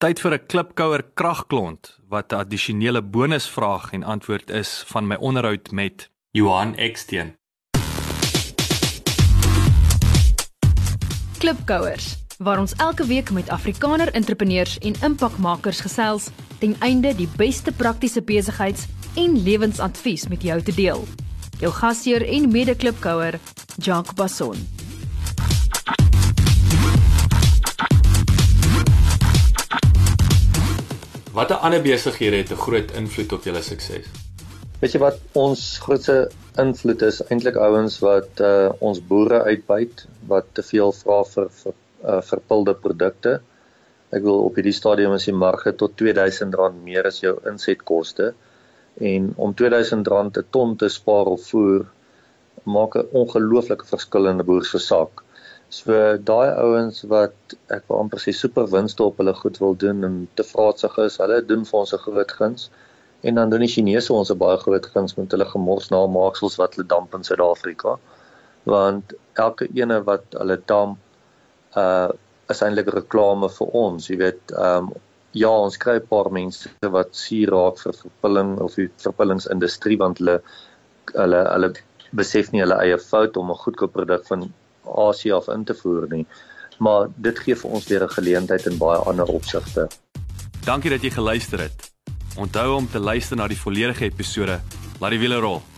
Tyd vir 'n klipkouer kragklont wat 'n addisionele bonusvraag en antwoord is van my onderhoud met Johan Eksteen. Klipkouers, waar ons elke week met Afrikaner entrepreneurs en impakmakers gesels ten einde die beste praktiese besigheids- en lewensadvies met jou te deel. Jou gasheer en mede-klipkouer, Jacques Basson. Watter ander besighede het 'n groot invloed op julle sukses? Weet jy wat ons grootste invloed is eintlik ouens wat ons boere uitbuit, wat te veel vra vir verpilde produkte. Ek wil op hierdie stadium is die marge tot R2000 meer as jou insetkoste. En om R2000 'n ton te spaar of voer maak 'n ongelooflike verskil in 'n boer se saak. So daai ouens wat ek wil amper sê super winste op hulle goed wil doen en te vraatsig is, hulle doen vir ons 'n groot guns. En dan doen die Chinese ons 'n baie groot guns met hulle gemorsnamaaksels wat hulle damp in Suid-Afrika. Want elke ene wat hulle damp is eintlik reklame vir ons. Jy weet, ja, ons kry 'n paar mense wat suur raak vir verpilling of die verpillingsindustrie want hulle besef nie hulle eie fout om 'n goedkoop produk van Asië af in te voer nie. Maar dit gee vir ons weer 'n geleentheid in baie ander opsigte. Dankie dat jy geluister het. Onthou om te luister na die volledige episode. Laat die wiele rol.